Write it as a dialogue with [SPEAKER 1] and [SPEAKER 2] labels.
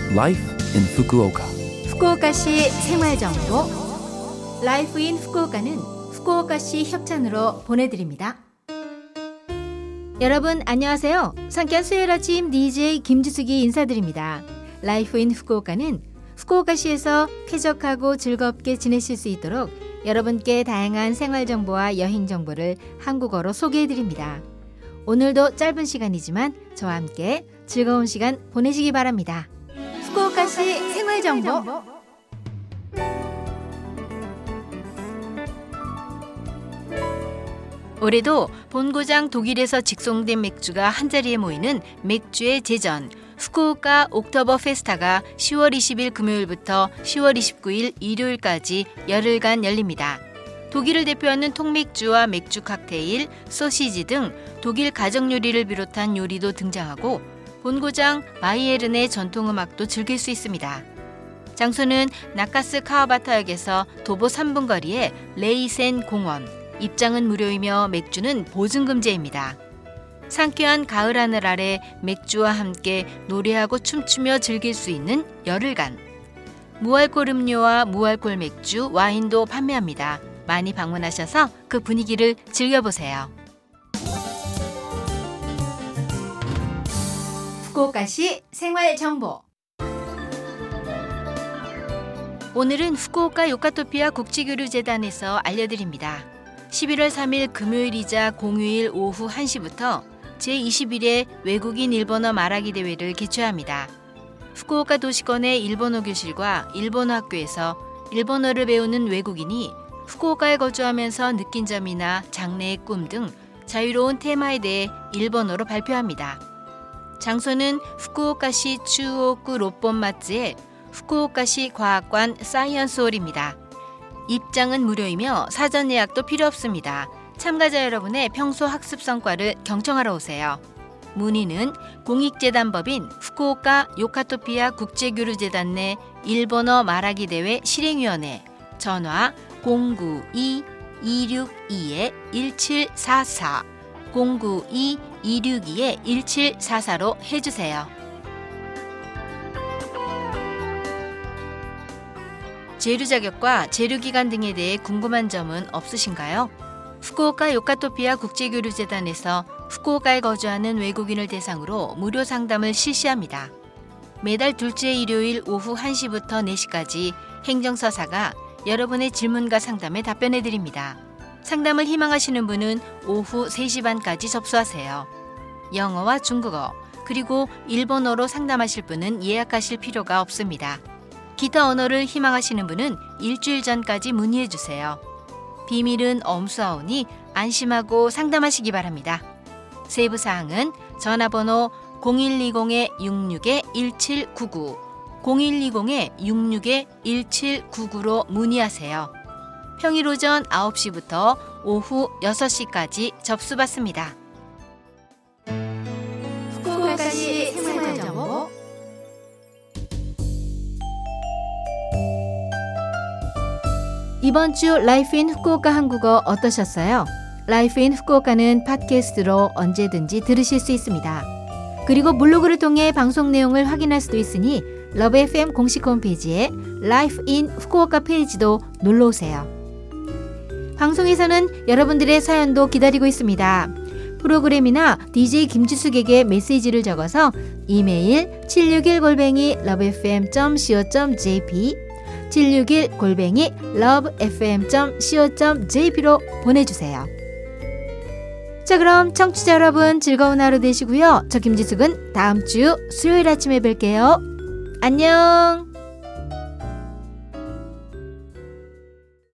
[SPEAKER 1] Life in Fukuoka.
[SPEAKER 2] 후쿠오카시 생활정보 라이프 인 후쿠오카는 후쿠오카시 협찬으로 보내드립니다. 여러분 안녕하세요. 상쾌한 수요일 아침 DJ 김지숙이 인사드립니다. 라이프 인 후쿠오카는 후쿠오카시에서 쾌적하고 즐겁게 지내실 수 있도록 여러분께 다양한 생활정보와 여행정보를 한국어로 소개해드립니다. 오늘도 짧은 시간이지만 저와 함께 즐거운 시간 보내시기 바랍니다. 후쿠오카시 생활정보. 올해도 본고장 독일에서 직송된 맥주가 한자리에 모이는 맥주의 제전 후쿠오카 옥토버 페스타가 10월 20일 금요일부터 10월 29일 일요일까지 열흘간 열립니다. 독일을 대표하는 통맥주와 맥주 칵테일, 소시지 등 독일 가정 요리를 비롯한 요리도 등장하고 본고장 바이에른의 전통음악도 즐길 수 있습니다. 장소는 나카스 카와바타역에서 도보 3분 거리의 레이센 공원. 입장은 무료이며 맥주는 보증금제입니다. 상쾌한 가을 하늘 아래 맥주와 함께 노래하고 춤추며 즐길 수 있는 열흘간. 무알콜 음료와 무알콜 맥주, 와인도 판매합니다. 많이 방문하셔서 그 분위기를 즐겨보세요. 후쿠오카시 생활정보. 오늘은 후쿠오카 요카토피아 국제교류재단에서 알려드립니다. 11월 3일 금요일이자 공휴일 오후 1시부터 제21회 외국인 일본어 말하기 대회를 개최합니다. 후쿠오카 도시권의 일본어 교실과 일본어 학교에서 일본어를 배우는 외국인이 후쿠오카에 거주하면서 느낀 점이나 장래의 꿈 등 자유로운 테마에 대해 일본어로 발표합니다. 장소는 후쿠오카시 추오쿠 롯본마츠의 후쿠오카시 과학관 사이언스홀입니다. 입장은 무료이며 사전 예약도 필요 없습니다. 참가자 여러분의 평소 학습 성과를 경청하러 오세요. 문의는 공익재단법인 후쿠오카 요카토피아 국제교류재단 내 일본어 말하기 대회 실행위원회 전화 092-262-1744 092-262-1744로 해주세요. 재류 자격과 재류 기간 등에 대해 궁금한 점은 없으신가요? 후쿠오카 요카토피아 국제교류재단에서 후쿠오카에 거주하는 외국인을 대상으로 무료 상담을 실시합니다. 매달 둘째 일요일 오후 1시부터 4시까지 행정서사가 여러분의 질문과 상담에 답변해드립니다. 상담을 희망하시는 분은 오후 3시 반까지 접수하세요. 영어와 중국어, 그리고 일본어로 상담하실 분은 예약하실 필요가 없습니다. 기타 언어를 희망하시는 분은 일주일 전까지 문의해주세요. 비밀은 엄수하오니 안심하고 상담하시기 바랍니다. 세부사항은 전화번호 0120-66-1799, 0120-66-1799로 문의하세요. 평일 오전 9시부터 오후 6시까지 접수받습니다. 후쿠오카시 생활정보. 이번 주 라이프 인 후쿠오카 한국어 어떠셨어요? 라이프 인 후쿠오카는 팟캐스트로 언제든지 들으실 수 있습니다. 그리고 블로그를 통해 방송 내용을 확인할 수도 있으니 러브 FM 공식 홈페이지에 라이프 인 후쿠오카 페이지도 놀러오세요. 방송에서는 여러분들의 사연도 기다리고 있습니다. 프로그램이나 DJ 김지숙에게 메시지를 적어서 이메일 761@lovefm.co.jp 761@lovefm.co.jp로 보내주세요. 자, 그럼 청취자 여러분 즐거운 하루 되시고요. 저 김지숙은 다음 주 수요일 아침에 뵐게요. 안녕.